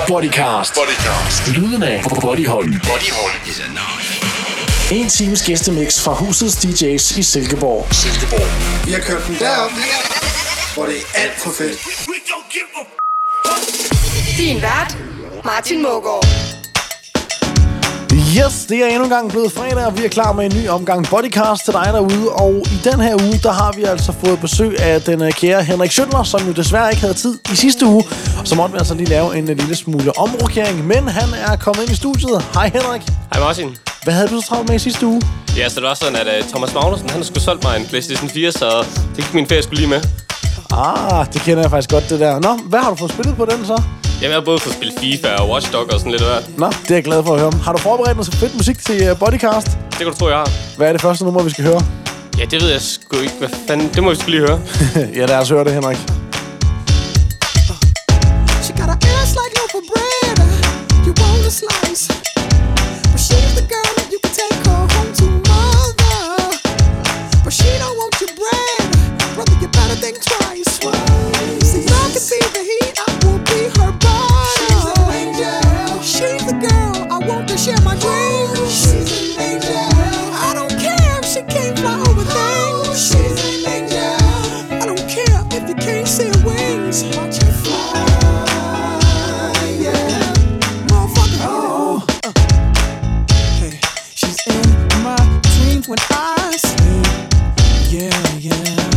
Bodycast. Lyden af Bodyhold. En times gæstemix fra husets DJ's i Silkeborg. Vi har kørt den derop, hvor det er alt for fedt. Din vært, Martin Mågaard. Yes, det er endnu en gang blevet fredag, og vi er klar med en ny omgang Bodycast til dig derude. Og i den her uge, der har vi altså fået besøg af den kære Henrik Schøttler, som jo desværre ikke havde tid i sidste uge. Så måtte vi altså lige lave en lille smule omrokering, men han er kommet ind i studiet. Hej Henrik. Hej Martin. Hvad havde du så travlt med i sidste uge? Ja, så det var sådan, at Thomas Magnussen, han skulle solgt mig en PlayStation 4, så det gik min ferie skulle lige med. Det kender jeg faktisk godt, det der. Nå, hvad har du fået spillet på den så? Jamen, jeg har både fået spillet FIFA og Watch Dogs og sådan lidt af hvert. Nå, det er jeg glad for at høre. Har du forberedt noget så fedt musik til Bodycast? Det kan du tro, jeg har. Hvad er det første nummer, vi skal høre? Ja, det ved jeg sgu ikke. Hvad fanden? Det må vi sgu lige høre. Ja, lad os høre det, Henrik. She got an ass like loaf of bread. You want a slice, but she's the girl that you can take her home to mother. But she don't want your bread, brother. You better think twice. See, I can see the heat. I will be her body. She's an angel. She's the girl I want to share my dreams. She's an angel. I don't care if she can't fly over things. She's an angel. I don't care if you can't see her wings. Watch her fly. When I sleep, yeah.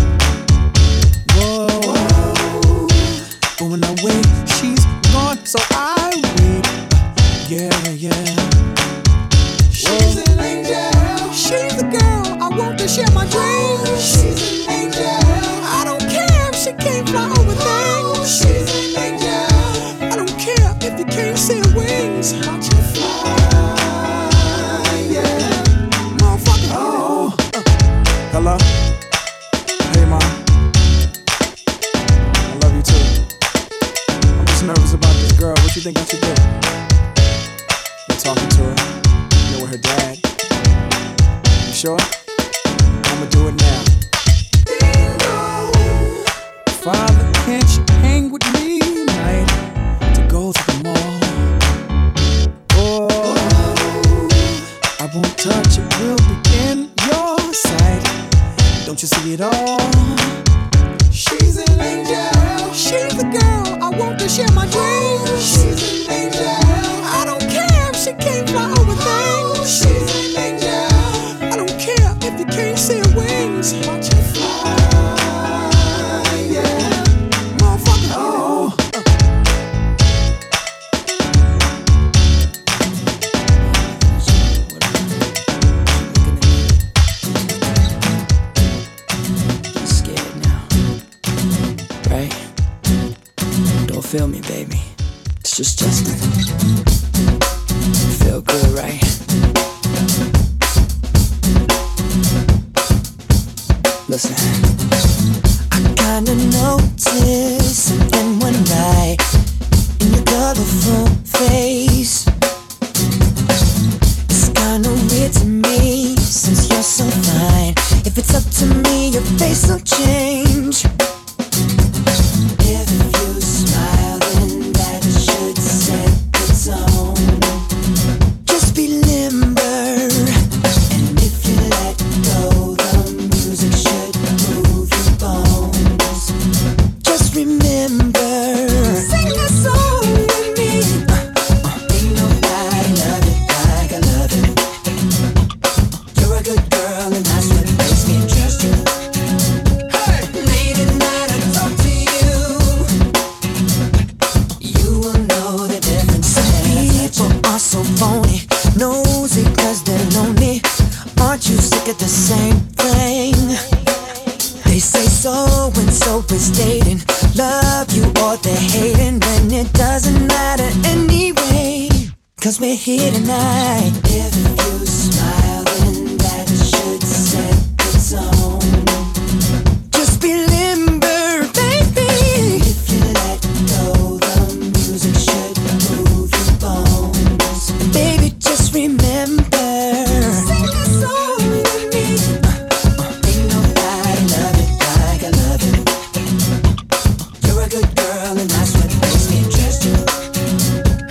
Whoa. But when I wake, she's gone, so I wait, yeah. She's an angel. She's the girl I want to share my dreams. She's an angel. I don't care if she can't fly over things. She's an angel. I don't care if you can't see her wings. Watch her fly. Hello? Hey, Mom. I love you too. I'm just nervous about this girl. What you think I should do? I'm talking to her. You know, with her dad. You sure? I'ma do it now. Bingo! Father, can't you hang with me tonight to go to the mall? Oh, I won't touch it. We'll begin your sight. Don't you see it all? She's an angel. She's the girl I want to share my dreams. She's an angel. I don't care if she can't fly over things. She's an angel. I don't care if you can't see her wings. Watch her fly, yeah. Motherfucker, oh. Feel me, baby. It's just Justin. Feel good, right? Listen. I kinda noticed something one night in your colorful face. It's kinda weird to me since you're so fine. If it's up to me, your face will change. We're here tonight. If you smile, then that should set the tone. Just be limber, baby. If you let go, the music should move your bones. Baby, just remember. Sing a song with me. Ain't nobody love it like I love it. You're a good girl, and that's what makes me trust you.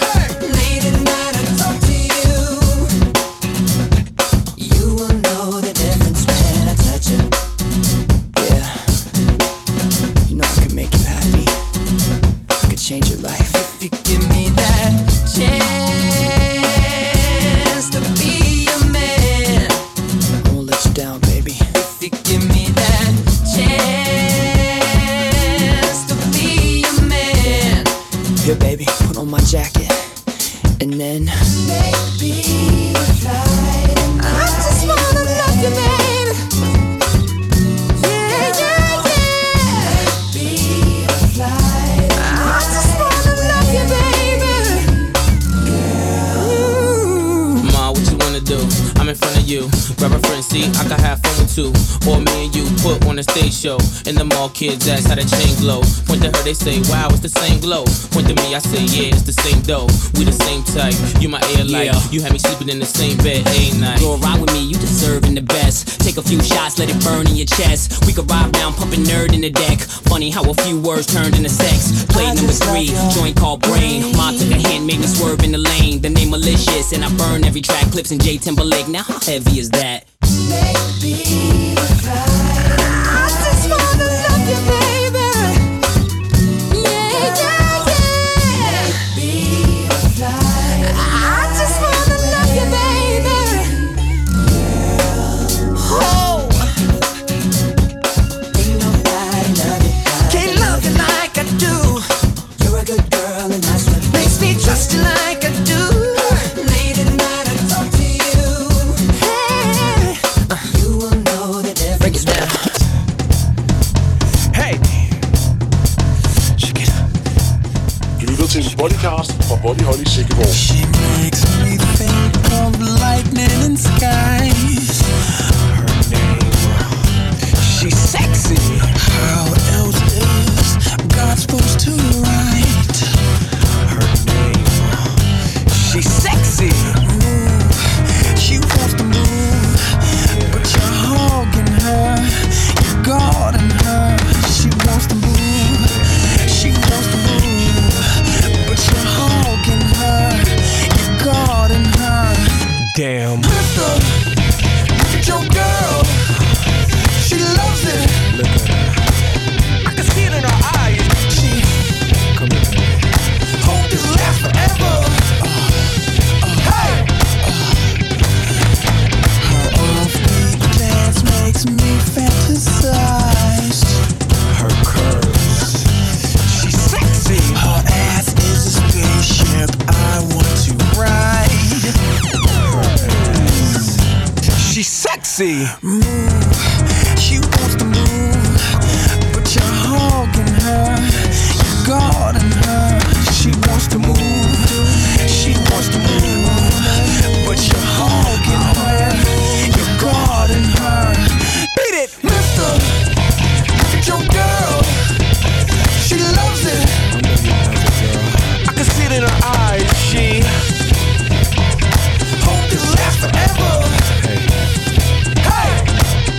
change your life. If you give me that chance to be your man, I won't let you down, baby. If you give me that chance to be your man, here, baby, put on my jacket, and then maybe fly. I just wanna love you, baby. I'm in front of you, grab a friend, see, I can have fun with two. Or me and you put on a stage show. And the mall kids ask how the chain glow. Point to her, they say, wow, it's the same glow. Point to me, I say, yeah, it's the same dough. We the same type, you my air light. You had me sleeping in the same bed, ain't night. Go ride with me, you deserving the best. Take a few shots, let it burn in your chest. We could ride down, pumping nerd in the deck. Funny how a few words turned into sex. Play number 3, joint called Brain. Ma took a hand, made me swerve in the lane. The name malicious, and I burn every track. Clips in J Timberlake, now how heavy is that? Maybe fly. I just wanna love you, baby. Yeah, yeah, yeah. Maybe fly. I just wanna love you, baby. Oh. Ain't nobody love you. Can't love you like I do. You're a good girl and that's what makes me trust you like I do. Late at night I talk to you. Hey, you will know that every break it down. Hey! Check it. Du lytter til en podcast fra Bodyhold i Silkeborg. She makes me think of lightning and skies. Her name, she's sexy. How else is God supposed to write her name? She's sexy. Move, she wants to move, but you're hogging her, you're guarding her. She wants to move, she wants to move, but you're hogging her, you're guarding her. Damn. Mister, look at your girl. She loves it. Look at her. I can see it in her eyes. She come here, baby. Hope this lasts forever. Hey. Her offbeat dance makes me fantasize. Her curves, she's sexy. Her ass is a spaceship I want to ride. Her ass, she's sexy. Move, she wants to move, but you're hogging her, you're guarding her. She wants to move, she wants to move, but you're hogging her, you're guarding her. Beat it, mister, look at your girl. She loves it. I can see it in her eyes. She hope this lasts forever. Hey.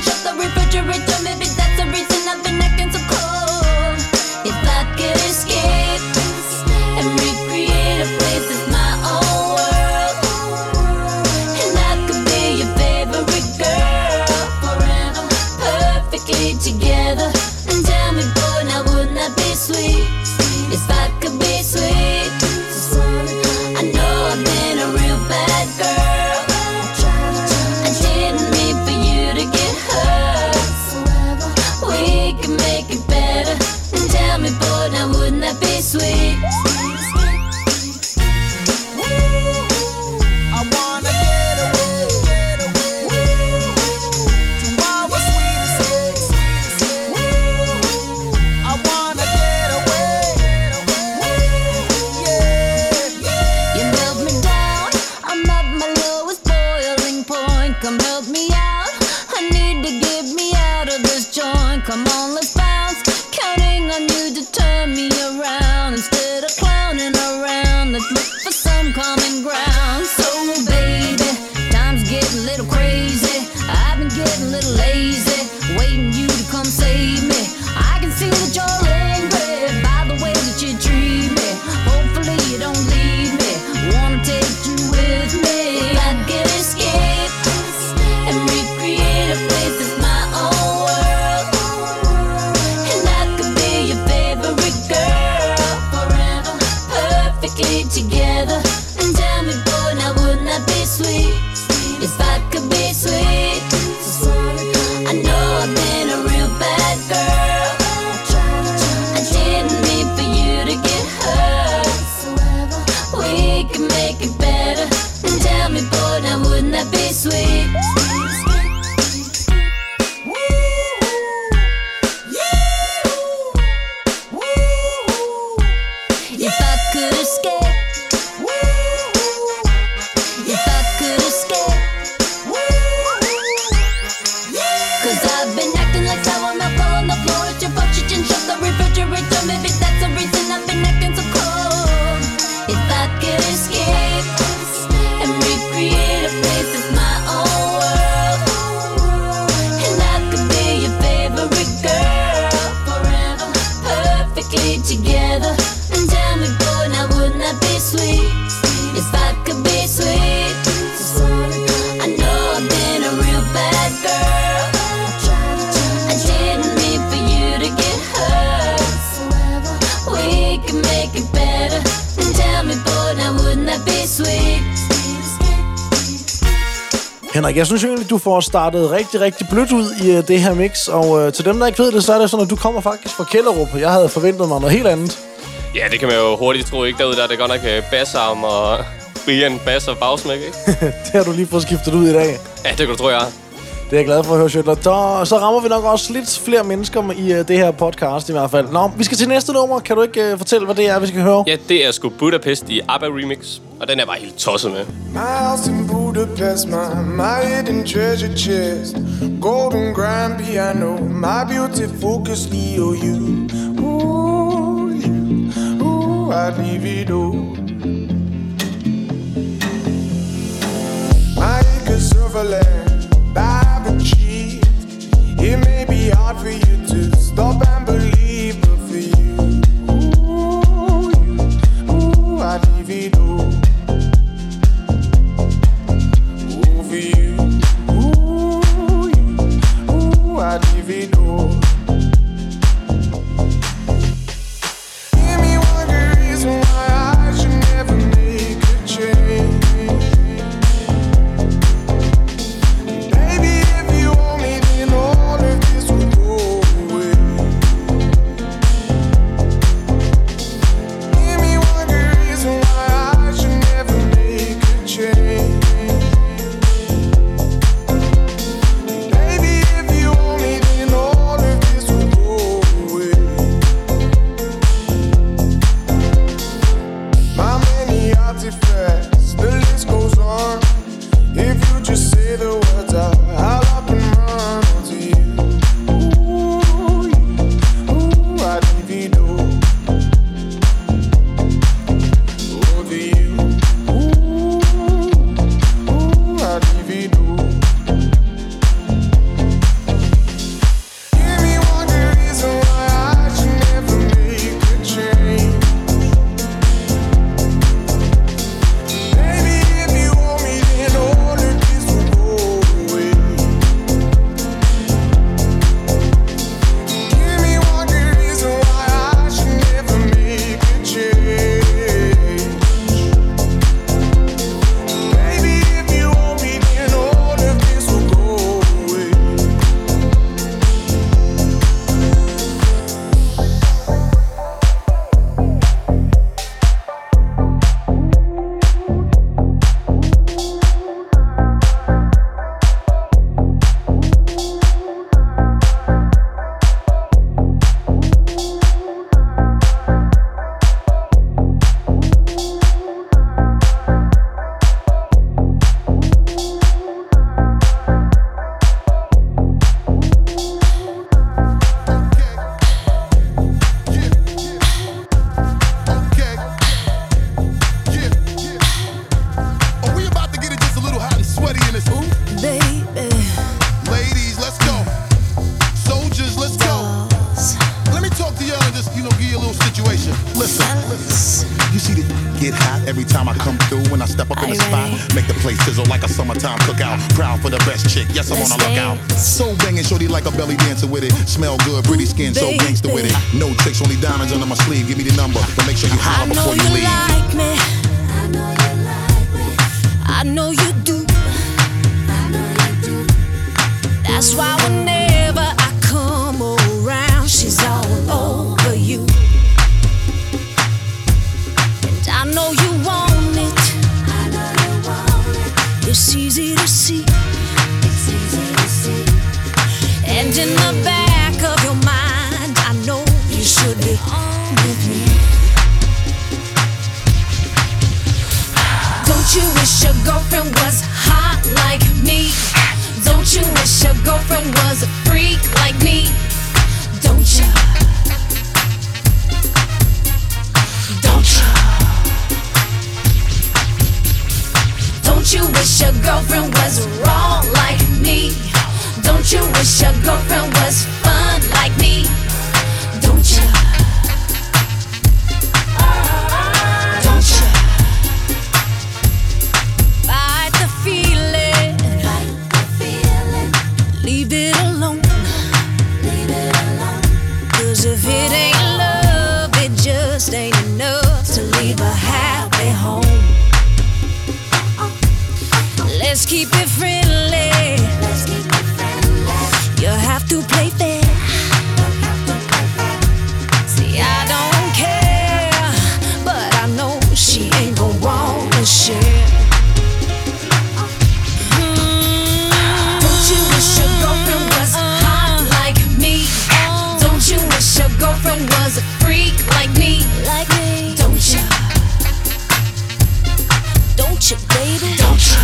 shut the refrigerator. Maybe that's the reason I've been acting so cold. If I could escape and recreate a place that's my own world, and I could be your favorite girl forever, perfectly together. And tell me, boy, now wouldn't that be sweet? If I could be sweet, I know I've been a real bad girl. I didn't mean for you to get hurt. We can make it better. And tell me, boy, now wouldn't that be sweet? I wanna get away. Tomorrow's sweetest day. I wanna get away. You melt me down, I'm at my lowest boiling point. Come help me out, I need to get me out of this joint. Come on, let's bounce, counting on you to turn me around. Instead of clowning around, let's look for some common ground. So baby, time's getting a little crazy. I've been getting a little lazy, waiting you to come save me. I can see that you're angry by the way that you treat me. Hopefully you don't leave me, wanna take you with me. If I could escape and recreate a place that's my own world, and I could be your favorite girl forever, perfectly together. And tell me, boy, now wouldn't that be sweet? If I could be sweet, I know I've been a real bad girl. I didn't mean for you to get hurt. We can make it better. And tell me, boy, now wouldn't that be sweet? If I could escape, if I could escape, 'cause I've been acting like sour milk all on the floor. It's your fault you didn't shut the refrigerator. Maybe that's the reason I've been acting so cold. If I could escape and recreate a place that's my own world, and I could be your favorite girl forever, perfectly together. And tell me, boy, now wouldn't that be sweet? If I could be sweet, I know I've been a real bad girl. I didn't mean for you to get hurt. We can make it better. And tell me, boy, now wouldn't that be sweet? Henrik, jeg synes jo egentlig, du får startet rigtig, rigtig blødt ud i det her mix. Og til dem, der ikke ved det, så er det sådan, at du kommer faktisk fra Kjellerup. Jeg havde forventet mig noget helt andet. Ja, det kan man jo hurtigt tro, ikke? Derude der er det godt nok bassarm og Brian bass og bagsmæk, ikke? Det har du lige fået skiftet ud i dag. Ja, det kan du tro, jeg er. Det er jeg glad for at høre, Schøtler. Så rammer vi nok også lidt flere mennesker i det her podcast i hvert fald. Nå, vi skal til næste nummer. Kan du ikke fortælle, hvad det er, vi skal høre? Ja, det er sgu Budapest i ABBA Remix. Og den er bare helt tosset med. My house in Budapest, my hidden treasure chest, golden grand piano, my beauty focus, you. Ooh, I'd leave it all. My acres of land, I've achieved. It may be hard for you to stop and believe, but for you, I'd leave it all. For you, I'd leave it all. Give me one good reason why I should never make a change. Baby, if you want me, then all of this will go away. Give me one good reason why I should never make a change. The list goes on. If you just say the words out, I'll up and run to you. I'd leave it all. To you. I'd leave it all. minutes. Ooh, baby. Ladies, let's go. Soldiers, let's go. Let me talk to y'all and just, give you a little situation. Listen. You see the get hot every time I come through. When I step up in the spot, make the place sizzle like a summertime cookout. Proud for the best chick, yes, I'm on a lookout. So banging, shorty like a belly dancer with it. Smell good, pretty skin, so gangster with it. No tricks, only diamonds under my sleeve. Give me the number, but make sure you holler before you leave. Like me. I know you like me. I know you do. I know you do. That's why whenever I come around, she's all over you. And I know you want it. I know you want it. It's easy to see. It's easy to see. And in the back of your mind, I know you should be on with me. Don't you wish your girlfriend was hot like me? Don't you wish your girlfriend was a freak like me? Don't you? Don't you? Don't you wish your girlfriend was raw like me? Don't you wish your girlfriend was fun like me? Don't you? Don't you? Fight the feeling. Fight the feeling. Leave it alone. Leave it alone. 'Cause if it ain't love, it just ain't enough to leave a happy home. Let's keep it friendly. Let's keep it friendly. You have to play fair. See, I don't care, but I know she ain't gon' wanna share. Don't you wish your girlfriend was hot like me? Don't you wish your girlfriend was a freak like me? Like me. Don't you? Don't you, baby? Don't you?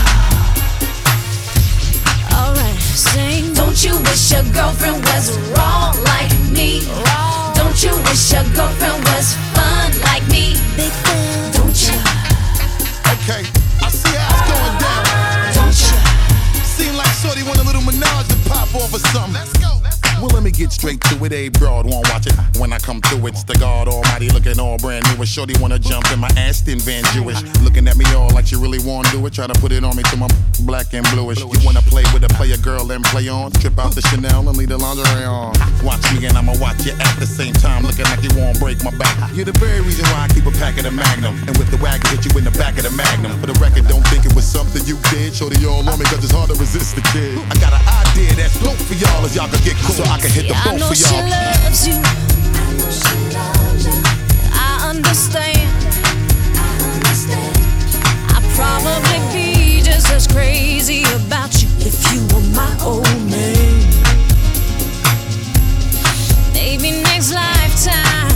Alright, sing. Don't you wish your girlfriend was raw like me? Raw. Don't you wish your girlfriend was fun like me? Big fan. Don't you? Okay, I see how it's going down. Don't you? Seem like shorty want a little menage to pop off or something. Let's go. Well, let me get straight to it. A broad won't watch it. When I come through, it's the God Almighty looking all brand new. A shorty wanna jump in my Aston Van Jewish, looking at me all like she really wanna do it. Try to put it on me till my black and bluish. You wanna play with a player girl and play on? Strip out the Chanel and leave the lingerie on. Watch me and I'ma watch you at the same time, looking like you won't break my back. You're the very reason why I keep a pack of the Magnum, and with the wagon hit you in the back of the Magnum. For the record, don't think it was something you did. Shorty all on me 'cause it's hard to resist the kid. I got an idea that's dope for y'all as y'all can get cool, so I can hit the boat for y'all. She loves you. I know she loves you. I understand. I'd probably be just as crazy about you if you were my old man. Maybe next lifetime.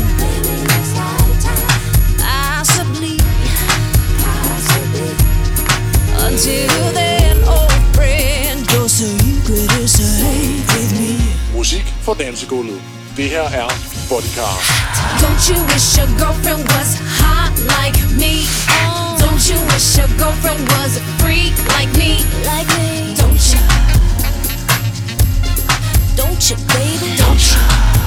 Possibly. Until then, old friend, your secret is safe with me. Musik for dansegulvet. Det her er Bodycast. Don't you wish your girlfriend was hot like me? Don't you wish your girlfriend was a freak like me? Like me. Don't you? Don't you, baby? Don't you?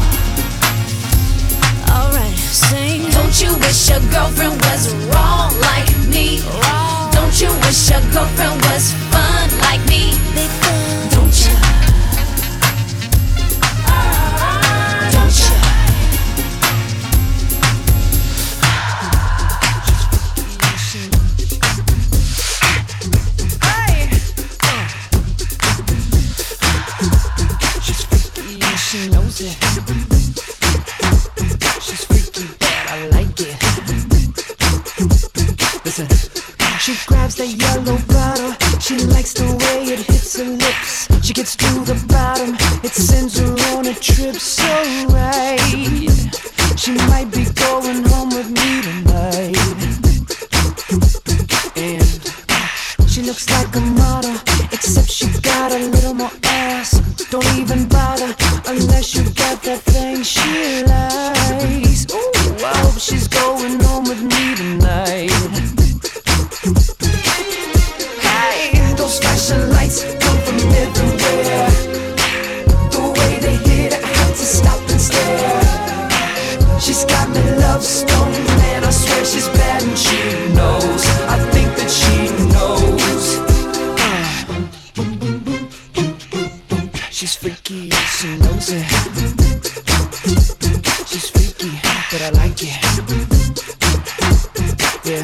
Alright, sing. Don't you wish your girlfriend was raw like me? Raw. Don't you wish your girlfriend was fun like me? Big fun. Don't you? Don't you? She knows it. She's freaky, but I like it. Listen. She grabs the yellow bottle. She likes the way it hits her lips. She gets to the bottom. It sends her on a trip so right. She might be going home with me tonight. And she looks like a model, except she got a little more ass. Don't even bother unless you got that thing she likes. Ooh, I hope she's going home with me tonight. Hey, those flashing lights She's freaky, she knows it. She's freaky, but I like it. Yeah.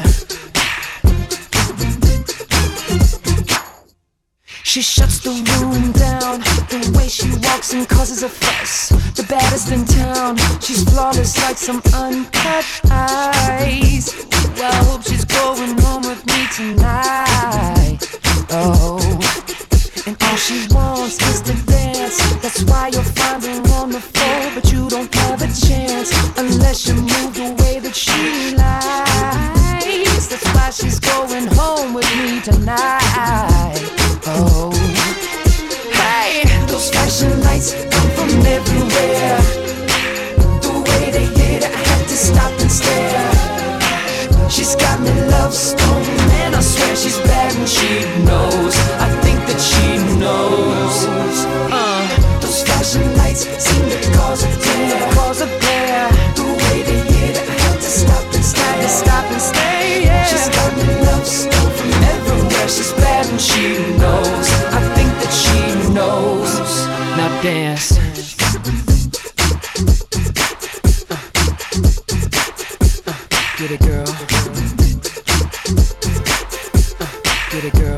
She shuts the room down. The way she walks and causes a fuss. The baddest in town. She's flawless like some uncut ice. Well, I hope she's going home with me tonight. Oh, and all she wants is to dance. That's why you'll find her on the floor, but you don't have a chance unless you move the way that she likes. That's why she's going home with me tonight. Oh, hey, those flashing lights come from everywhere. The way they hit, I had to stop and stare. She's got me love stone, and I swear she's bad and she knows. I think that she knows. Those flashing lights seem to cause a glare. The way they hit, I had to stop and stay. Yeah. She's got me love stone from everywhere. She's bad and she knows. I think that she knows. Now dance. Get it, girl. Get it, girl.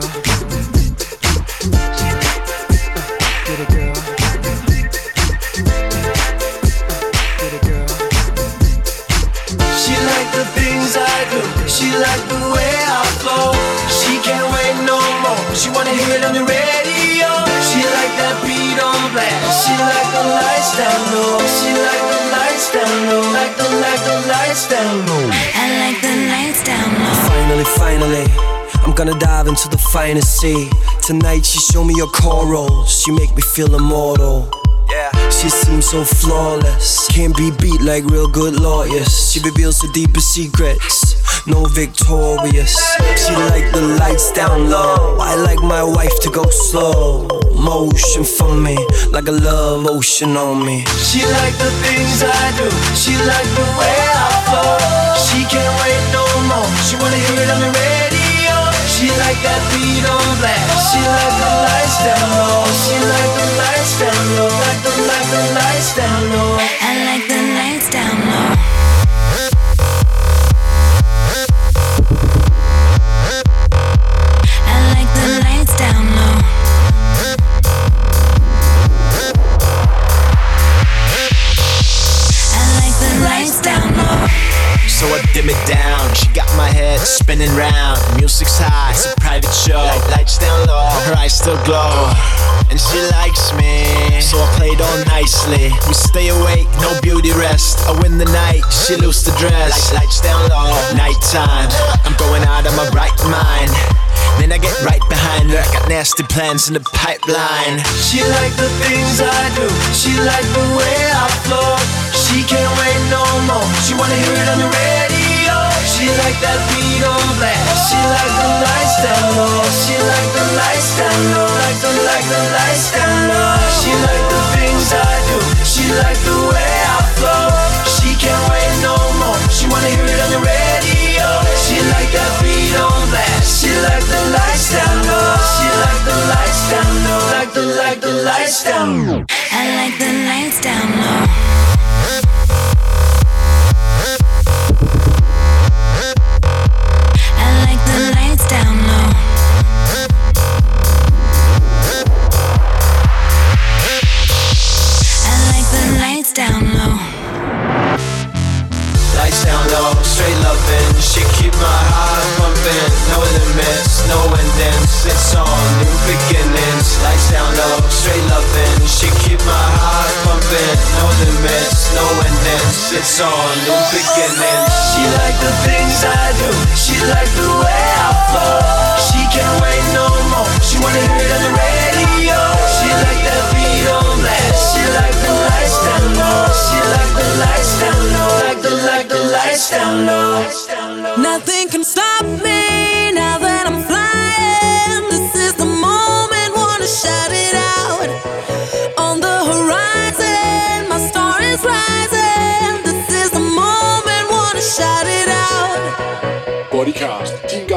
Get it, girl. Get it, girl. She like the things I do. She like the way I flow. She can't wait no more. She wanna hear it on the radio. She like that beat on blast. She like the lights down low. She like the lights down low. Like the lights down low. I like the lights down low. Finally, I'm gonna dive into the finest sea. Tonight she show me her corals. She make me feel immortal. Yeah, she seems so flawless. Can't be beat like real good lawyers. She reveals the deepest secrets. No victorious. She like the lights down low. I like my wife to go slow motion for me, like a love ocean on me. She like the things I do. She like the way I flow. She can't wait no more. She wanna hear it on the radio. She like that beat on blast. She like the lights down low. She like the lights down low. Like the lights down low. I like the lights down low. I like the lights down low. I like the lights down low. So I dim it down. She got my head spinning round. Music's high, it's a private show. Lights down low, her eyes still glow. And she likes me, so I played all nicely. We stay awake, no beauty rest. I win the night, she lose the dress. Lights down low, nighttime. I'm going out of my right mind. Then I get right behind her. I got nasty plans in the pipeline. She like the things I do. She like the way I flow. She can't wait no more. She wanna hear it on the radio. She like that beat on blast. She like the lights down low. She like the lights down low. Like the lights down low. She like the things I do. She like the way I flow. She can't wait no more. She wanna hear it on the radio. She like that beat on blast. She like the lights down low. She like the lights down low. Like the lights down low. I like the lights down low. I like the lights down low. I like the lights down low. Lights down low, straight loving. She keep my heart pumping. No limits, no endings. It's on new beginnings. Lights down low, straight loving. She keep my heart pumping. No limits, no endings. It's on new beginnings. She like the things I do. She like the way I flow. She can't wait no more. She wanna hear it on the radio. She like that beat on blast. She like the lights down low. She like the lights down low. Like the lights down low. Nothing can stop me now that I'm flying. This is the moment, wanna shout it out. On the horizon, my star is rising. This is the moment, wanna shout it out. Bodycast. Din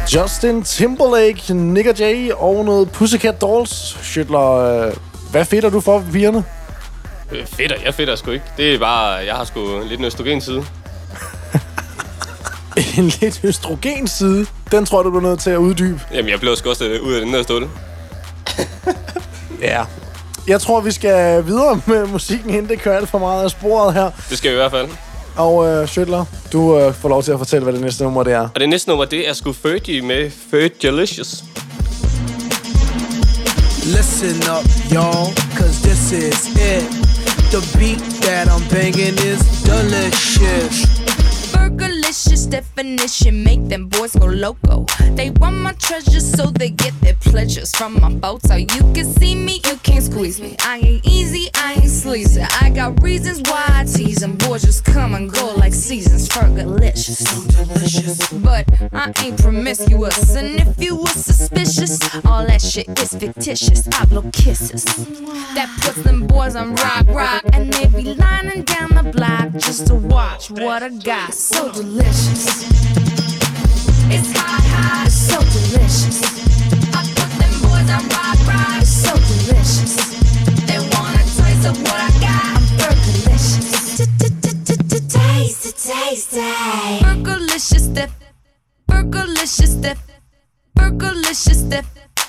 Justin Timberlake, Nick Jay og noget Pussycat Dolls. Schøtler, hvad fedter du for pigerne? Jeg fedter sgu ikke. Det er bare, jeg har sgu lidt en østrogenside. En lidt østrogenside? Den tror du bliver nødt til at uddybe. Jamen, jeg blev sgu også ud af den der stål. Ja. Jeg tror, vi skal videre med musikken, inden det kører alt for meget af sporet her. Det skal vi i hvert fald. Og Schøtler, du får lov til at fortælle, hvad det næste nummer det er. Og det næste nummer, det er sgu Fergie med Fergalicious. Listen up, y'all, cause this is it. The beat that I'm banging is delicious. Fergalicious definition, make them boys go loco. They want my treasures so they get their pleasures from my photo. You can see me, you can't squeeze me. I ain't easy, I ain't sleazy. I got reasons why I tease them. Boys just come and go like seasons. Fergalicious, so delicious. But I ain't promiscuous, and if you were suspicious, all that shit is fictitious. I blow kisses that puts them boys on rock, and they be lining down the block just to watch what I got. So delicious. It's hot, it's so delicious. I put them boys on rock, it's so delicious. They want a taste of what I got. I'm Fergalicious. Taste it. Fergalicious dip. Fergalicious dip. Fergalicious dip.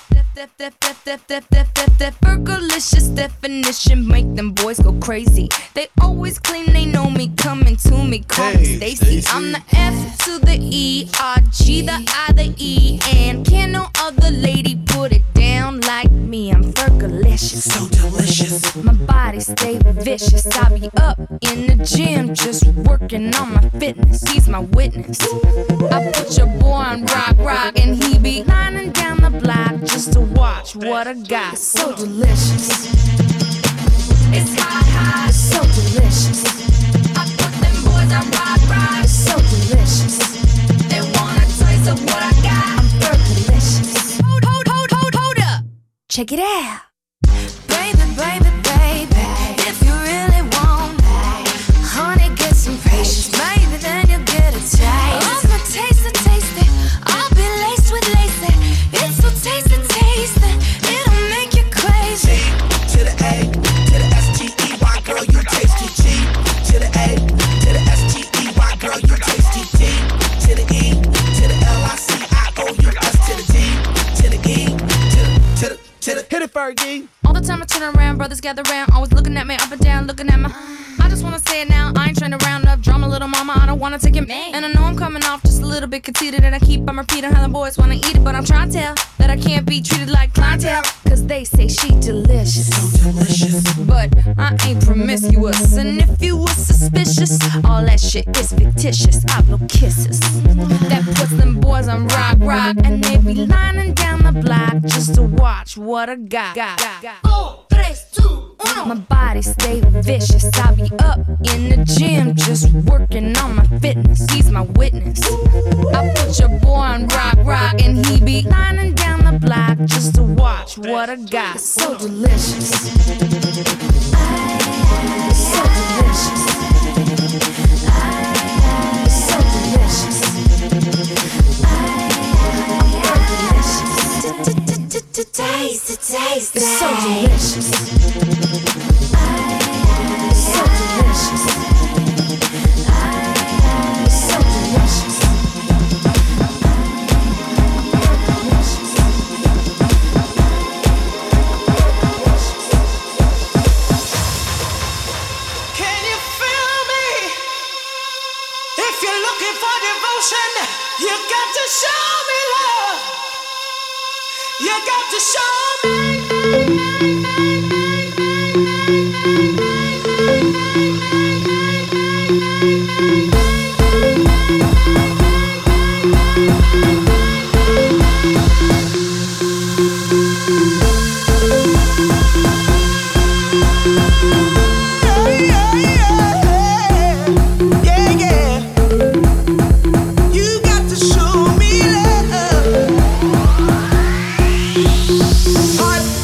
Fergalicious definition, make them boys go crazy. They always claim they know me, coming to me, call me Stacy. I'm the F to the E, R-G, the I, the E, and can no other lady put it down like me. I'm Fergalicious, so delicious. My body stay vicious. I be up in the gym, just working on my fitness. He's my witness. I put your boy on rock, and he be lining down the block just to watch what I got. So delicious. It's hot, it's so delicious. I put them boys on rock, it's so delicious. They want a taste of what I got. I'm Fergalicious. Hold up. Check it out. Baby, if you really want me, honey, get some patience. Maybe then you'll get a taste. I'm a taste it. I'll be laced with lace. It's so tasty. It'll make you crazy. To the A, to the S-T-E-Y, girl, you tasty. G, to the A, to the S-T-E-Y, girl, you tasty. D, to the E, to the L-I-C-I-O-U-S, to the D, to the E, to the hit it, Fergie. All the time I turn around, brothers gather round, always looking at me up and down, looking at my. I just wanna say it now, I ain't trying to round up drama, little mama, I don't wanna take it. And I know I'm coming off just a little bit conceited, and I keep on repeating how the boys wanna eat it, but I'm trying to tell that I can't be treated like clientele, cause they say she delicious. So delicious. But I ain't promiscuous, and if you were suspicious, all that shit is fictitious. I blow kisses that puts them boys on rock, and they be lining down the block just to watch what I got. 4, 3, 2, 1. My body stay vicious. I be up in the gym just working on my fitness. He's my witness. I put your boy on rock, and he be lining down the block just to watch what I got. So delicious. So delicious. So delicious. Taste it. It's so delicious. So delicious. So delicious. Can you feel me? If you're looking for devotion, you got to show me love. You got to show me. Heart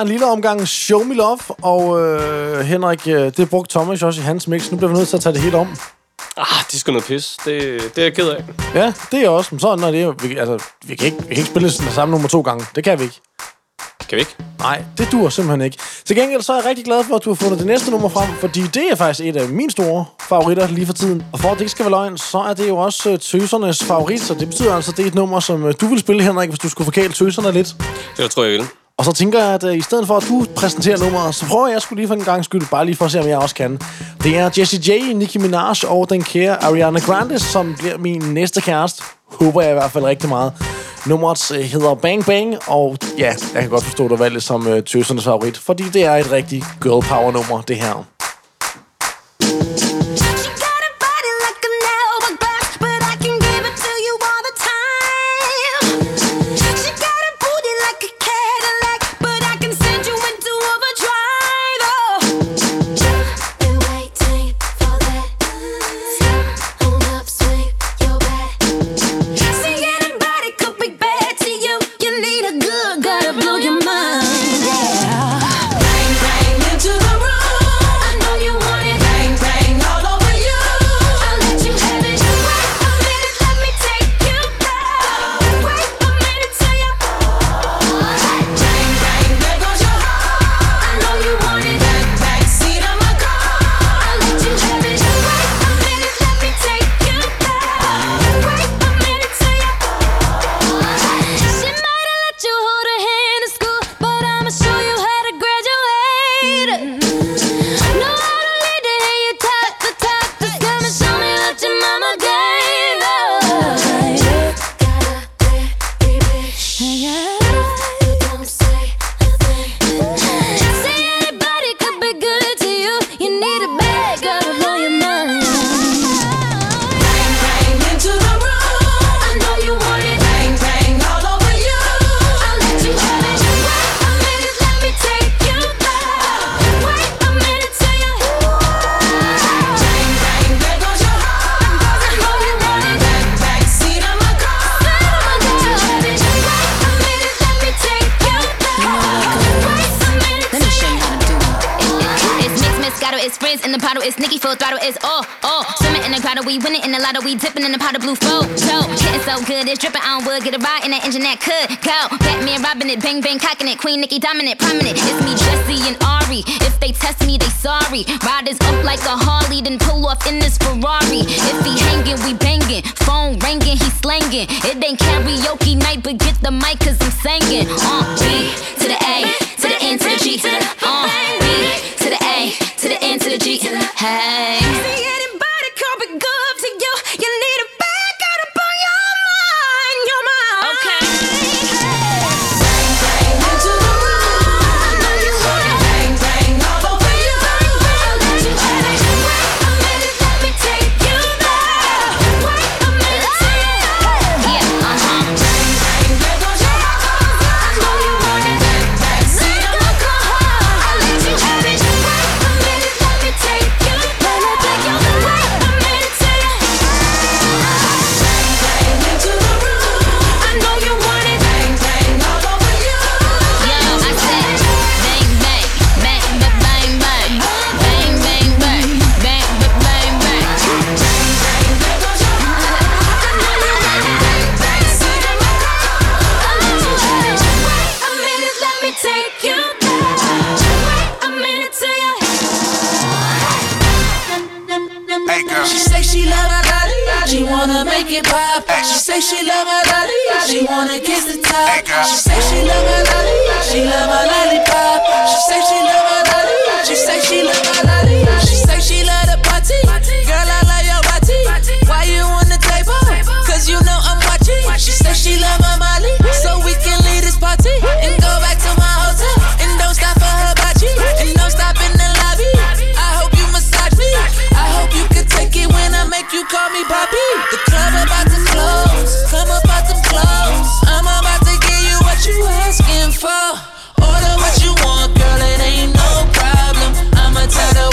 en lille omgang Show Me Love, og Henrik, det brugte Thomas også i hans mix. Nu bliver vi nødt til at tage det helt om. Det er sgu noget pis. Det er jeg ked af. Ja, det er jeg også. Men sådan er det. Vi kan ikke spille den samme nummer 2 gange. Det kan vi ikke. Kan vi ikke? Nej, det duer simpelthen ikke. Til gengæld så er jeg rigtig glad for, at du har fundet det næste nummer frem, fordi det er faktisk et af mine store favoritter lige for tiden. Og for at det ikke skal være løgn, så er det jo også tøsernes favorit, så det betyder altså, at det er et nummer, som du vil spille, Henrik, hvis du skulle forkæle tøserne lidt. Det tror jeg vil. Og så tænker jeg, at i stedet for, at du præsenterer nummeret, så prøver jeg sgu lige for en gang skyld, bare lige for at se, om jeg også kan. Det er Jessie J, Nicki Minaj og den kære Ariana Grande, som bliver min næste kæreste. Håber jeg i hvert fald rigtig meget. Nummeret hedder Bang Bang, og ja, jeg kan godt forstå, at du valgte det som tøsernes favorit, fordi det er et rigtig girl power nummer, det her. It's Nicki full throttle, it's swimming in the grotto, we winning in the lotto, we dipping in the pot of blue photo. Getting so good, it's dripping on wood, get a ride in that engine that could go. Batman robbing it, bang bang cocking it, Queen Nicki dominant, prominent. It's me, Jessie and Ari. If they test me, they sorry. Riders up like a Harley, then pull off in this Ferrari. If he hanging, we banging. Phone ringing, he slanging. It ain't karaoke night, but get the mic 'cause I'm singing. B to the A, to the N to the G, to the B to the A, to the N to the G. Hey. See anybody come be good to you? You need a back out up on your mind, your mind. Okay. Bang bang into the room. I know you want it. Bang bang all over you. I'll let you have it. Wait a minute, let me take you there. Wait a minute, yeah, Bang bang, there goes your heart. I know you want it. Bang bang, see the look on her. I'll let you have it. Wait a minute, let me take you. She say she love my body, she wanna make it pop. She say she love my body, she wanna kiss the top. She say she love my body, she love my lollipop. She say she love my body, she say she love my body. She say she love the party, girl I love your body. Why you on the table? 'Cause you know I'm watching. She say she love my Molly, so we can leave this party and go back to my hotel. And don't stop for her body, and don't stop in the lobby. I hope you massage me, I hope you can take it when I make you call me Bobby. The club about to close, come up out them clothes. I'm about to give you what you asking for. Order what you want, girl, it ain't no problem. I'ma tell the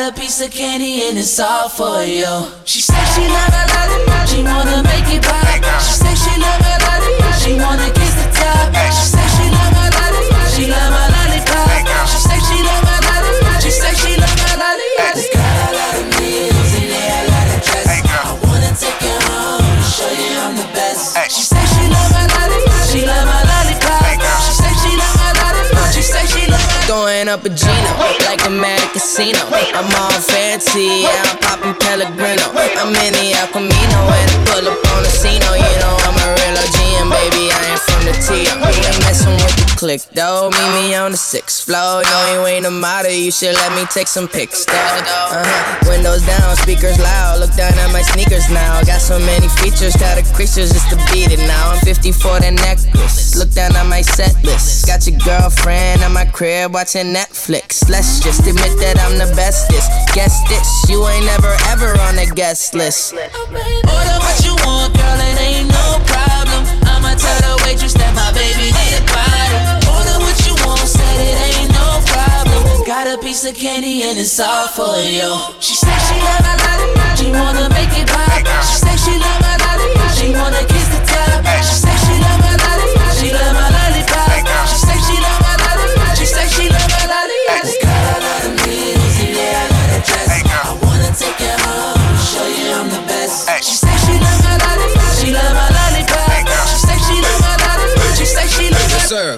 a piece of candy and it's all for you. She said she love her lollipop, she wanna make it pop. She said she love her lollipop, she wanna kiss the top. She said she love her lollipop, she love her lollipop. She said she love her lollipop, she said she love her lollipop. It's got a lot of meals in there, a lot of dress. I wanna take you home and show you I'm the best. She said she love her lollipop, she love her lollipop. She said she love her lollipop, she said she love her. Going up a Gino, like a mad casino. I'm all fancy, yeah, I'm popping Pellegrino. I'm in the El Camino, and I pull up on the scene. You know I'm a real OG, and baby, I ain't from the T. You ain't messing with the click, though. Meet me on the 6th floor. No, you ain't a model, you should let me take some pics, though. Windows down, speakers loud. Look down at my sneakers now. Got so many features, got a creatures just to beat it now. I'm 54 the necklace. Look down at my set list. Got your girlfriend at my crib watching Netflix. Let's just admit that I'm the bestest. Guess this, you ain't never ever on the guest list. Order what you want, girl, it ain't no problem. I'ma tell the waitress that my baby need a bottle. Order what you want, said it ain't no problem. Got a piece of candy and it's all for you. She said she love her lollipop, she wanna make it pop. She said she love her lollipop, she wanna kiss the top. She said she love her lollipop, she love her lollipop. She said she love her lollipop, she said she love her lollipop. It's got a lot of meals in there, a lot of dress. I wanna take you home and show you I'm the best. She said she love her lollipop, she love her lollipop. She said she love her lollipop, she said she love her. Yes, sir.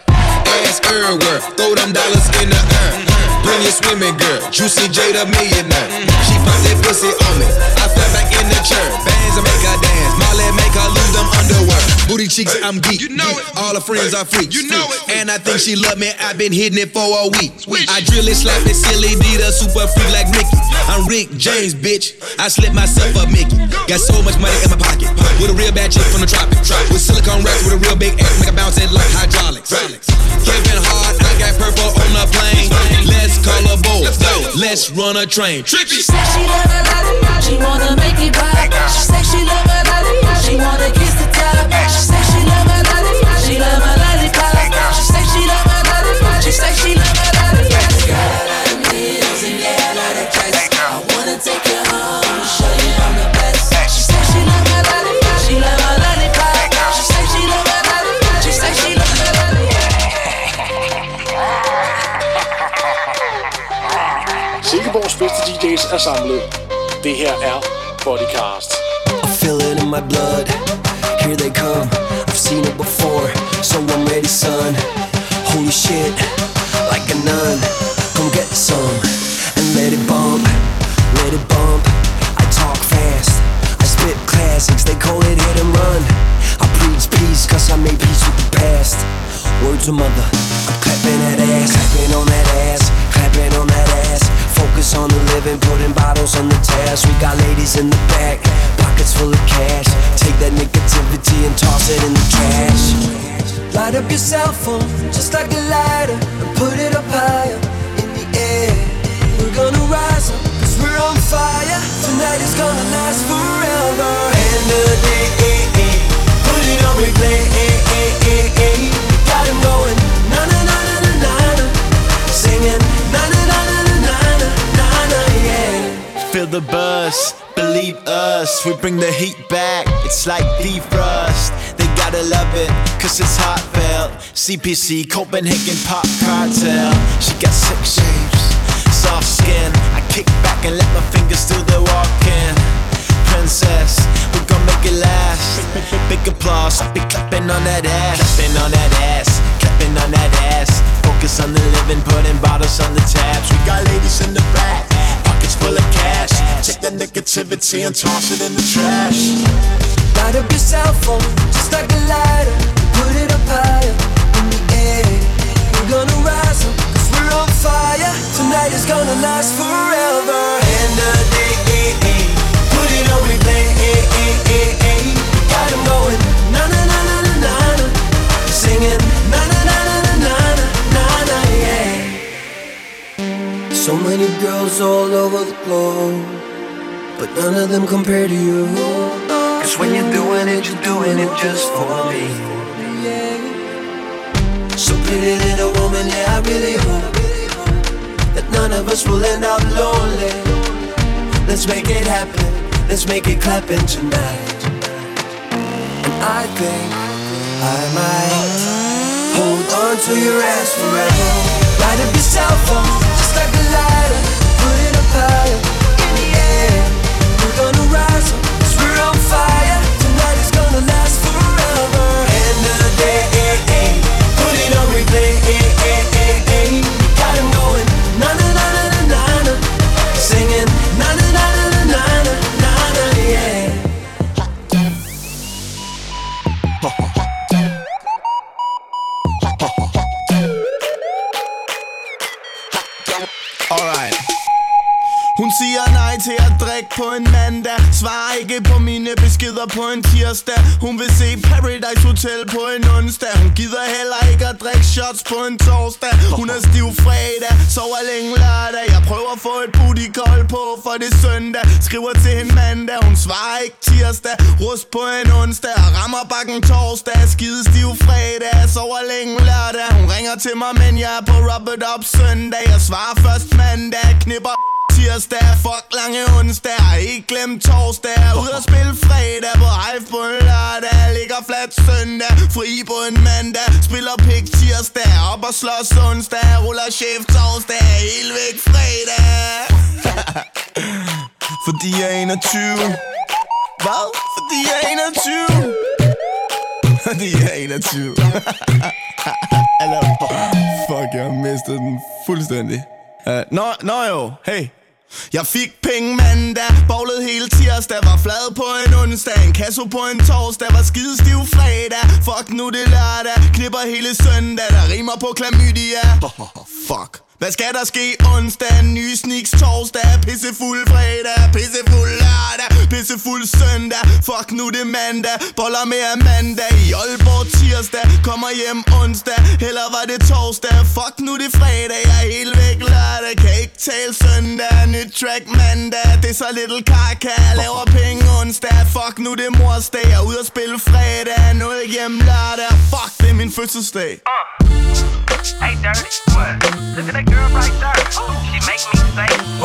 Ass everywhere, throw them dollars in the air. Bring your swimming girl, Juicy J the millionaire. She pop that pussy on me, I fell back in the chair. Bands that make her dance, Molly make her lose them underwear. Booty cheeks, I'm geek, you know it. All her friends are freaks, you know it. And I think she love me, I've been hitting it for a week. I drill it, slap it, silly D, the super freak like Mickey. I'm Rick James, bitch, I slip myself up Mickey. Got so much money in my pocket, with a real bad chick from the tropics. With silicone racks, with a real big ass, make her bounce it like hydraulics. Camping hard, I got purple on the plane. Let's call a boat, let's run a train. She said she love her lollipop, she wanna make it pop. She said she love her lollipop, she wanna kiss the top. She said she love her lollipop, she love her lollipop. She said she love her lollipop, she said she love her lollipop. Got a lot of meals and yeah, a lot of dress. I wanna take you home and show you I'm the best. She said she love her lollipop, she love her lollipop. She said she love her lollipop, she said she love her lollipop. Silkeborgs bedste DJ's er samlet. Det her er Bodycast. I feel it in my blood. Here they come. I've seen it before, so I'm ready, son. Holy shit, like a nun. Come get some and let it bump, let it bump. I talk fast, I spit classics. They call it hit and run. I preach peace, cause I made peace with the past. Words of mother, I'm clapping that ass, clapping on that ass, clapping on that ass. Focus on the living, putting bottles on the task. We got ladies in the back, pockets full of cash. Take that negativity and toss it in the trash. Light up your cell phone, just like a lighter, and put it up higher in the air. We're gonna rise up, cause we're on fire. Tonight is gonna last forever. And the day, put it on replay. Got him going, na na na na na na, singing na na na na na na na na, yeah. Feel the buzz, believe us, we bring the heat back. It's like defrost. They gotta love it, cause it's heartfelt. CPC, Copenhagen Pop Cartel. She got 6 shapes, soft skin. I kick back and let my fingers do the walking. Princess, we're gonna make it last. Big applause, I'll be clapping on that ass. Clapping on that ass, clapping on that ass. Focus on the living, putting bottles on the tabs. We got ladies in the back, pockets full of cash. Take that negativity and toss it in the trash. Light up your cell phone, just like a lighter. Put it up higher in the air. We're gonna rise up, cause we're on fire. Tonight is gonna last forever. And the day, put it on replay. Got him going, na na na na na na, singing na na na na na na na, yeah. So many girls all over the globe, but none of them compare to you. Cause when you're doing it just for me. So pretty little woman, yeah, I really hope that none none of us will end up lonely. Let's make it happen, let's make it clappin' tonight. And I think I might hold on to your ass forever. Light up your cell phone, just like a lighter. Put it up higher, in the air. We're gonna rise up, 'cause we're on fire. Tonight is gonna last forever. End of the day, put it on replay. Got him going, na-na-na-na-na-na. Singing, na-na-na-na-na-na-na, yeah. Alright. Hun siger nej til at drikke på en mandag. Svarer ikke på mine beskeder på en tirsdag. Hun vil se Paradise Hotel på en onsdag. Hun gider heller ikke at drikke shots på en torsdag. Hun er stiv fredag, sover længe lørdag. Jeg prøver at få et booty call på, for det søndag. Skriver til hende mandag, hun svarer ikke tirsdag. Rust på en onsdag og rammer bakken torsdag. Skide stiv fredag, sover længe lørdag. Hun ringer til mig, men jeg er på Rub It Up søndag. Jeg svarer først mandag, knipper tirsdag, fuck lange onsdag. Ikke glem torsdag. Ud at spille fredag, på Hive på en lørdag. Ligger flat søndag, fri på en mandag. Spiller pik tirsdag, op og slås onsdag. Ruller chef torsdag, helt væk fredag. Fordi jeg er 21. Hvad? Fordi jeg er 21. Fordi jeg er 21. Fuck, jeg har mistet den fuldstændig. Nå jo, hey. Jeg fik penge mandag, bowlede hele tirsdag. Var flad på en onsdag, en kasso på en torsdag. Var skidestiv fredag, fuck nu det lørdag. Knipper hele søndag, der rimer på klamydia. Fuck. Hvad skal der ske onsdag? Nye sneaks torsdag. Pissefuld fredag, pissefuld lørdag. Pissefuld søndag, fuck nu det mandag. Boller med Amanda i Aalborg tirsdag. Kommer hjem onsdag, heller var det torsdag. Fuck nu det fredag, jeg er helt væk lørdag. Kan ikke tale søndag, nyt track mandag. Det er så Little Kaka, laver penge onsdag. Fuck nu det morsdag, jeg er ude at spille fredag. Noget hjem lørdag, fuck det er min fødselsdag. Hey, Dirty, what? Look at that girl right there. She make me say, oh,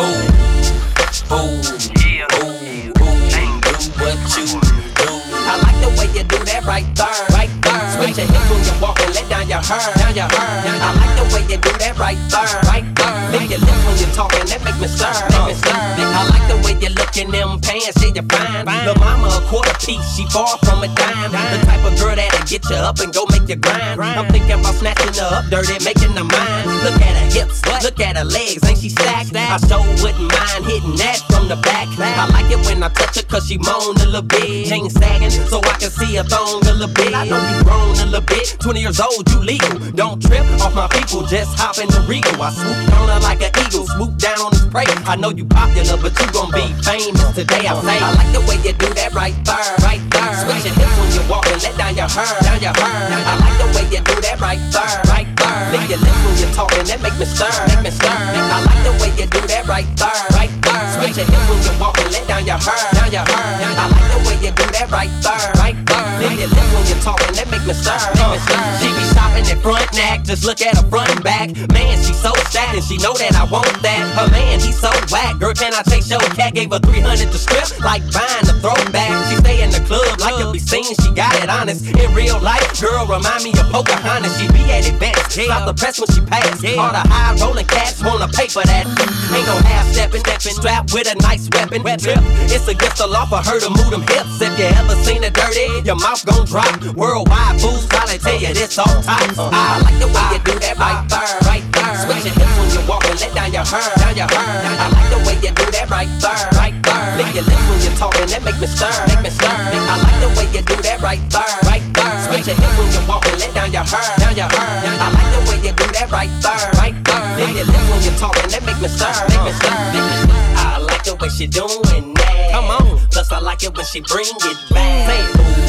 yeah, ain't do what you do. I like the way you do that right there, right there. Switch your hips when you walk and let down your hair, down your hair. I like the way you do that right there, right there. Lick your lips when you talking, that make me stir, make me stir. I like the way you look in them pants, yeah, you fine. Lil' mama a quarter piece, she far from a dime. The type of girl that'll get you up and go make you grind. I'm thinking about snatching her up, dirty, making her mine. Look at her hips, look at her legs, ain't she stacked? I sure wouldn't mind hitting that from the back. I like it when I touch her cause she moan a little bit. Chain sagging so I can see her thong a little bit. I know you grown a little bit, 20 years old, you legal. Don't trip off my people, just hop in the Regal. I swoop on her like an eagle, swoop down on his prey. I know you popular, but you gon' be famous today, I say. I like the way you do that right there, right there. Switch your hips when you walk and let down your hair, down your hair. I like the way you do that right there, right there. Lick your lips when you're talking, that make me stir, make me stir. I like the way you do that right there, right there. Switch your hips when you walk and let down your hair, down your hair. I like the way you do that right there, right there. Lick your lips when you're talking, that make me stir, make me stir. She be shopping at front neck, just look at her front and back. Man, she so stacked and she know that I want that. Her man, he so whack. Girl, can I take your cat? Gave her 300 to strip, like buying a throwback. She stay in the club, like to be seen, she got it honest. In real life, girl, remind me of Pocahontas. She be at events, stop the press when she pass. All the high rolling cats wanna pay for that. Ain't no half stepping, strapped with a nice weapon. Trip, it's against the law for her to move them hips. If you ever seen her dirty, your mouth gon' drop. Worldwide fools probably tell you this all time. I like the way you do that right there, right there. Switch your hips when you walk and let down your hair, down your hair. I like the way you do that right there, right there. Lick your lips when you're talking, that make me stir, make me stir. I like the way you do that right there, right there. Switch your hips when you walk and let down your hair, down your hair. I like the way you do that right there, right there. Lick your lips when you're talking, that make me stir, make me stir, make me stir. I like the way she doing that. Come on. Plus I like it when she bring it back. Say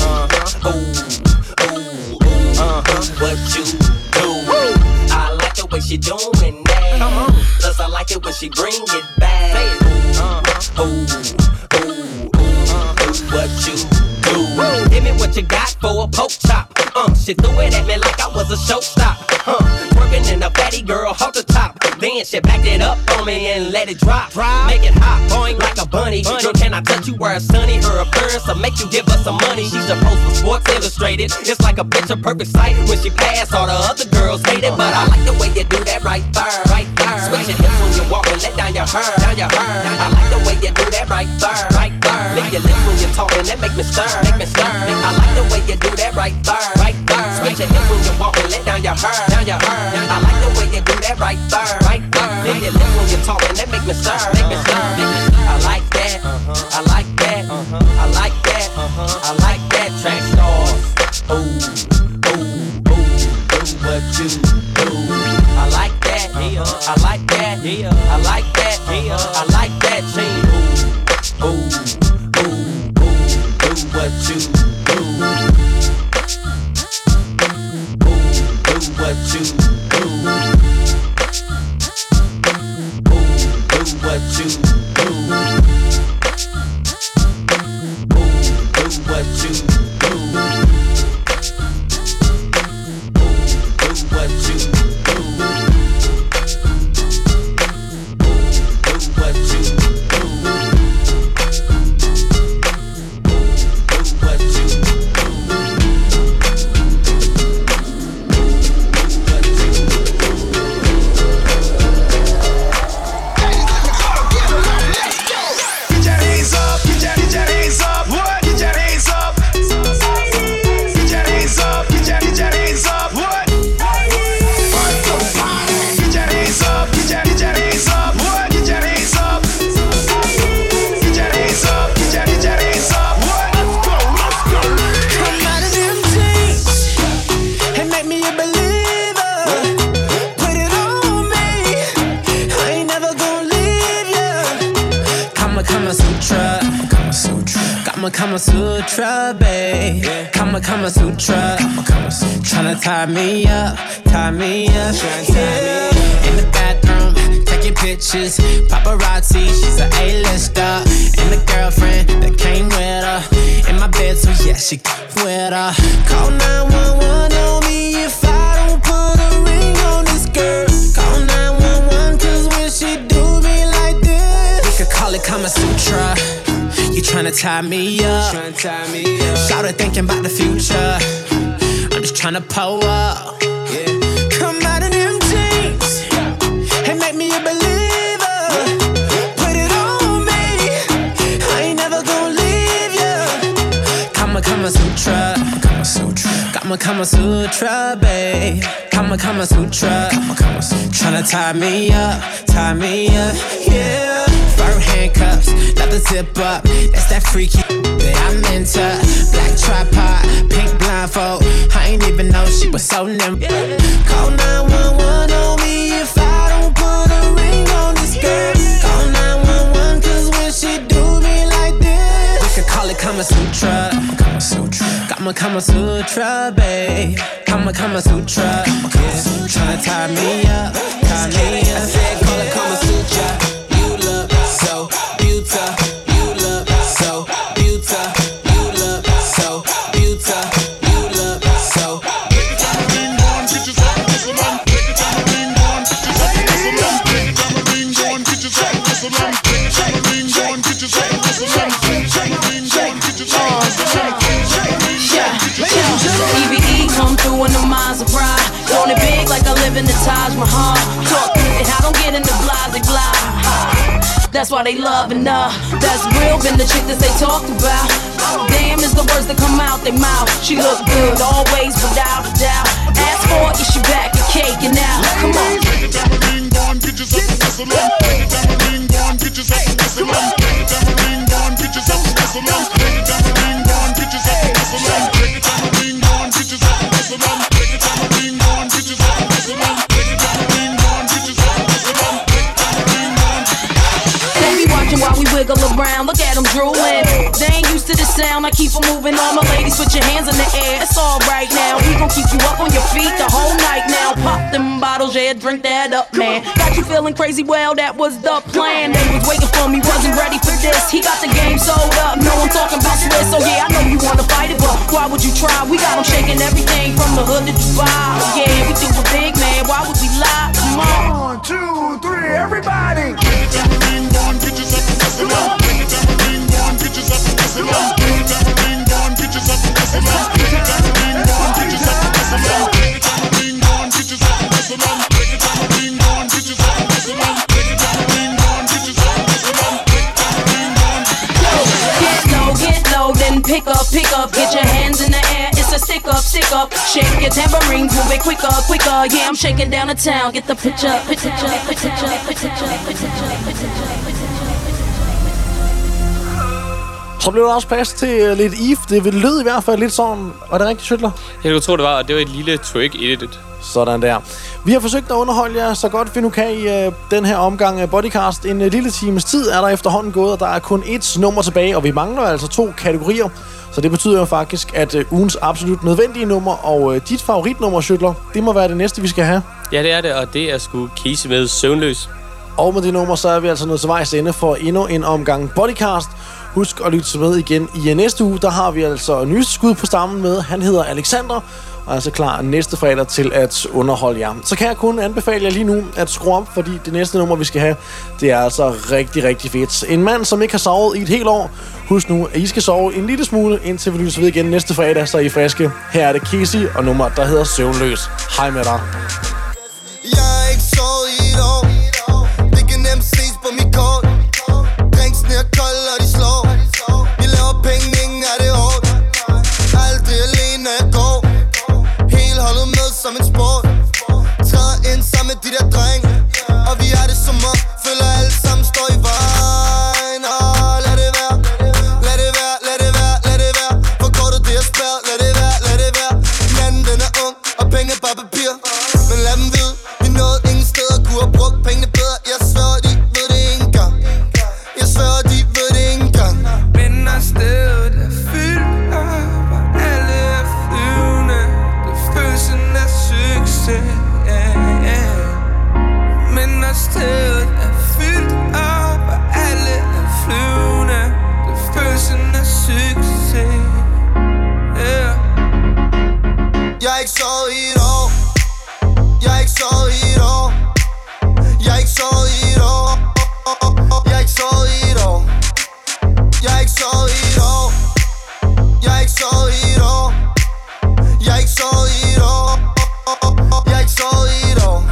ooh, what you do? I like the way she doing that. Come on. Plus I like it when she bring it back. Say what you do? Give me what you got for a poke chop. She threw it at me like I was a showstop. Working in a fatty girl halter top. Then she backed it up on me and let it drop. Make it hot, boing like a bunny. Girl, can I touch you where it's sunny? Her appearance will make you give her some money. She's a post for Sports Illustrated. It's like a picture perfect sight. When she pass, all the other girls hate it. But I like the way you do that right there, right there. Switch your hips when you walk and let down your hair, down your hair. I like the way you do that right there, right there. Lick your lips when you're talking, that make me stir, make me stir. I like the way you do that right there, right there. Switch your hips when you walk and let down your hair, down your hair. I like the way you do that right there, right there. Lick your lips when you're talking, that make me stir, make me stir. I like that, I like that, I like that, I like that. Track stars, ooh, ooh, ooh, do what you do. I like that, I like that, I like that, I like that. Team, ooh, ooh, ooh, ooh, do what you do. Ooh, do what you do. Ooh, do what you do. Ooh, do what you do. Kama Sutra, babe. Kama Sutra. Tryna tie me up, yeah. In the bathroom, taking pictures, paparazzi, she's an A-lister. And the girlfriend that came with her, in my bed, so yeah, she with her. Call 911 on me if I don't put a ring on this girl. Call 911, cause when she do me like this, we could call it Kama Sutra. You tryna tie me up, shout it thinking about the future. I'm just tryna pull up, come out in them jeans and make me a believer. Put it on me, I ain't never gonna leave ya. Kama Sutra, Kama Sutra, babe. Kama Sutra, tryna tie me up, yeah. Fur handcuffs, leather zip up, that's that freaky that I'm into. Black tripod, pink blindfold, I ain't even know she was so nimble. Call 911 on me if I don't put a ring on this girl. Call 911 cause when she do me like this, we could call it Kama Sutra. Kama Sutra, babe. Kama Sutra, tryna tie me up, I said call it Kama Sutra. So beautiful, you look so beautiful, you look so beautiful, you look so. Take your time, ring on, get yourself a whistle on. Take your time, ring on, get yourself a whistle on. Take your time, ring on, get yourself a whistle on. Take your time, ring on, get yourself a whistle on. Take your time, ring on, get yourself a whistle on. EVE come through in the Maserati, doing it big like I live in the Taj Mahal. Talk and I don't get into blah. That's why they loving her. That's real, been the chick that they talked about. Damn is the words that come out their mouth. She look good always, without a doubt. Ask for it, she back and caking out. Come on. Take your time, ring on, get yourself a whistle on. Take your time, ring on, get yourself a whistle on. Take your time, ring on, get yourself a whistle on. Take your time, ring on, get yourself a whistle on. Take your time, ring on, get yourself a whistle on. Take your time, ring on, get yourself a whistle on. Take your time, ring on, get yourself a whistle on. They be watching while we wiggle around. Look at them drooling. They ain't used to the sound. I keep them moving. All my ladies, put your hands in the air. It's all right now. We gon' keep you up on your feet the whole night now. Pop them bottles, yeah, drink that up, man. Got you feeling crazy? Well, that was the plan. They was waiting for me, wasn't ready for this. He got the game sold up. No, I'm talking about Swiss. So yeah, I know you wanna fight it, but why would you try? We got them shaking everything from the hood to Dubai. Yeah, we do it big, man. Why would we lie? Come on. 1, 2, stick up. Shake your tambourines, move it quicker, quicker. Yeah, I'm shaking down the town. Get the picture, picture, picture, picture, picture, picture. Så blev der også plads til lidt Eve. Det lød i hvert fald lidt sådan. Var det rigtigt, Schøtler? Jeg kunne tro, det var, og det var et lille trick i det. Sådan der. Vi har forsøgt at underholde jer så godt vi nu kan i den her omgang af Bodycast. En lille times tid er der efterhånden gået, og der er kun ét nummer tilbage, og vi mangler altså 2 kategorier. Så det betyder jo faktisk, at ugens absolut nødvendige nummer og dit favoritnummer, Schøtler, det må være det næste, vi skal have. Ja, det er det, og det er sgu Casey med Søvnløs. Og med det nummer, så er vi altså nået til vejs ende for endnu en omgang Bodycast. Husk at lytte med igen i næste uge. Der har vi altså nyeste skud på stammen med. Han hedder Alexander, og er altså klar næste fredag til at underholde jer. Så kan jeg kun anbefale jer lige nu at skrue op, fordi det næste nummer, vi skal have, det er altså rigtig, rigtig fedt. En mand, som ikke har sovet i et helt år. Husk nu, at I skal sove en lille smule, indtil vi lytter ved igen næste fredag, så er I friske. Her er det Casey og nummer, der hedder Søvnløs. Hej med dig. Jeg er ikke sovet i et år. Det kan nemt ses på mit kort. Drinksene er kold og de slår. Vi laver penge, ingen er det hårdt. Aldrig alene når jeg går. Hele holdet med som en sport. Træder ind sammen med de der dreng. Og vi har det som om, føler alle sammen står i vejen. Lad det være, lad det være, lad det være, lad det være. For kortet det er spærret, lad det være, lad det være. Manden den er ung, og penge er bare papir. Men lad dem vide, vi nåede ingen steder. Kunne have brugt pengene bedre, jeg sværger de ved det ikke engang. Jeg sværger de ved det ikke engang. Men når stedet er fyldt op, og alle er flyvende, det følelsen af succes, Men når stedet er fyldt op, og alle er flyvende, det følelsen af succes, Jeg er ikke sovet i et år. Jeg er ikke sovet i et år. Jeg er ikke sovet i et år. Jeg er ikke sovet i et år. Jeg er ikke sovet i et år. Jeg er ikke sovet i et år. Jeg er ikke sovet i et år. Jeg er ikke sovet i et år.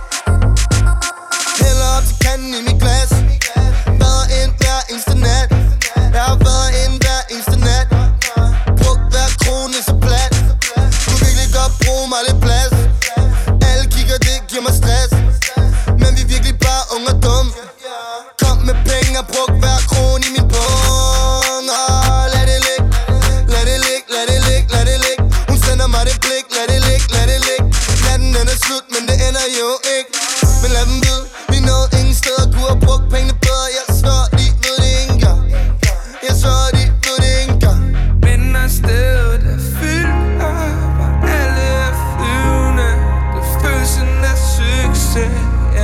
Hælder op til kanden i mit glas. Været ind hver eneste nat. Jeg har været ind hver eneste nat. Brugt hver krone så plat. Kunne virkelig godt bruge mig lidt plads. Alle kigger, det giver mig stress. Men vi er virkelig bare unge og dumme. Kom med penge og brug hver krone i min pung. Lad det ligge, lad det ligge, lad det ligge, lad det ligge. Hun sender mig det blik, lad det ligge, lad det ligge. Natten den er slut, men det ender jo ikke. Men lad dem vide, vi nåede ingen steder. Kunne have brugt pengene bedre, jeg svær, de ved det ikke engang. Jeg svær, de ved det ikke engang. Men når stedet er fyldt op, og alle er flyvende, det følelsen af succes,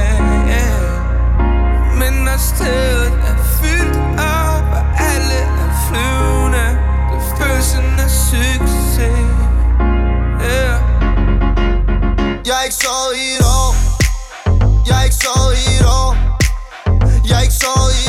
Men når stedet er fyldt op, og alle er flyvende, det følelsen af succes, Jeg er ikke sovet i et år. Jeg er ikke sovet i et år. Jeg er ikke sovet i